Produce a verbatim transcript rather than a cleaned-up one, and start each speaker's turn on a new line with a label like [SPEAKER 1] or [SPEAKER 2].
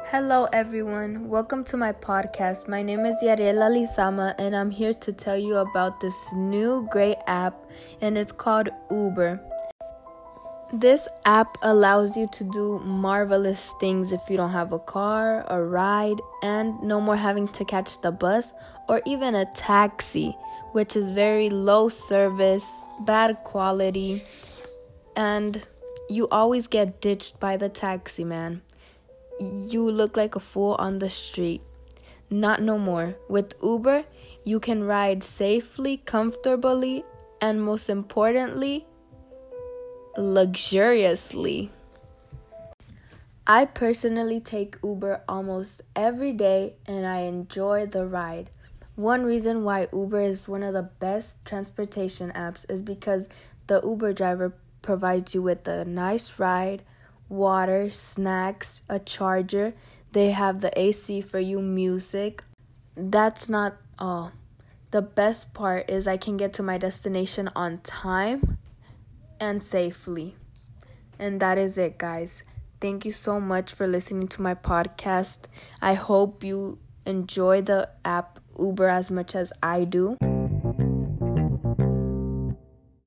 [SPEAKER 1] Hello everyone, welcome to my podcast. My name is Yariela Lizama and I'm here to tell you about this new great app and it's called Uber. This app allows you to do marvelous things if you don't have a car, a ride, and no more having to catch the bus or even a taxi, which is very low service, bad quality, and you always get ditched by the taxi man. You look like a fool on the street. Not no more. With Uber, you can ride safely, comfortably, and most importantly, luxuriously. I personally take Uber almost every day and I enjoy the ride. One reason why Uber is one of the best transportation apps is because the Uber driver provides you with a nice ride, water, snacks, a charger. They have the A C for you, music. That's not all. The best part is I can get to my destination on time and safely. And that is it, guys. Thank you so much for listening to my podcast. I hope you enjoy the app Uber as much as I do.